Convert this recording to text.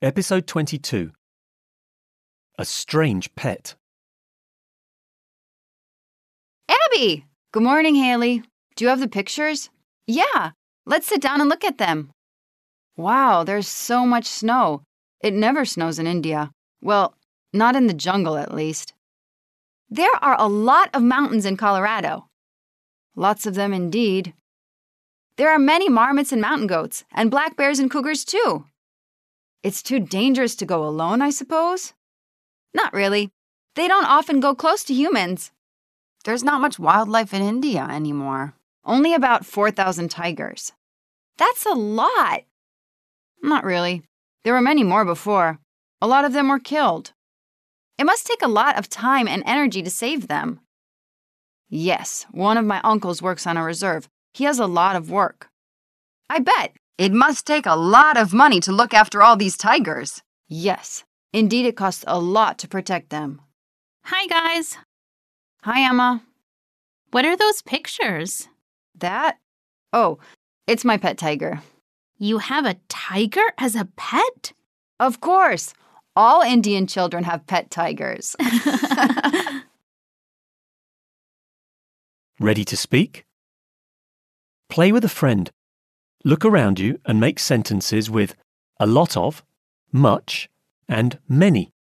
Episode 22. A Strange Pet. Abby! Good morning, Haley. Do you have the pictures? Yeah, let's sit down and look at them. Wow, there's so much snow. It never snows in India. Well, not in the jungle, at least. There are a lot of mountains in Colorado. Lots of them indeed. There are many marmots and mountain goats, and black bears and cougars, too. It's too dangerous to go alone, I suppose? Not really. They don't often go close to humans. There's not much wildlife in India anymore. Only about 4,000 tigers. That's a lot. Not really. There were many more before. A lot of them were killed. It must take a lot of time and energy to save them. Yes, one of my uncles works on a reserve. He has a lot of work. I bet. It must take a lot of money to look after all these tigers. Yes, indeed it costs a lot to protect them. Hi, guys. Hi, Emma. What are those pictures? That? Oh, it's my pet tiger. You have a tiger as a pet? Of course. All Indian children have pet tigers. Ready to speak? Play with a friend. Look around you and make sentences with a lot of, much, and many.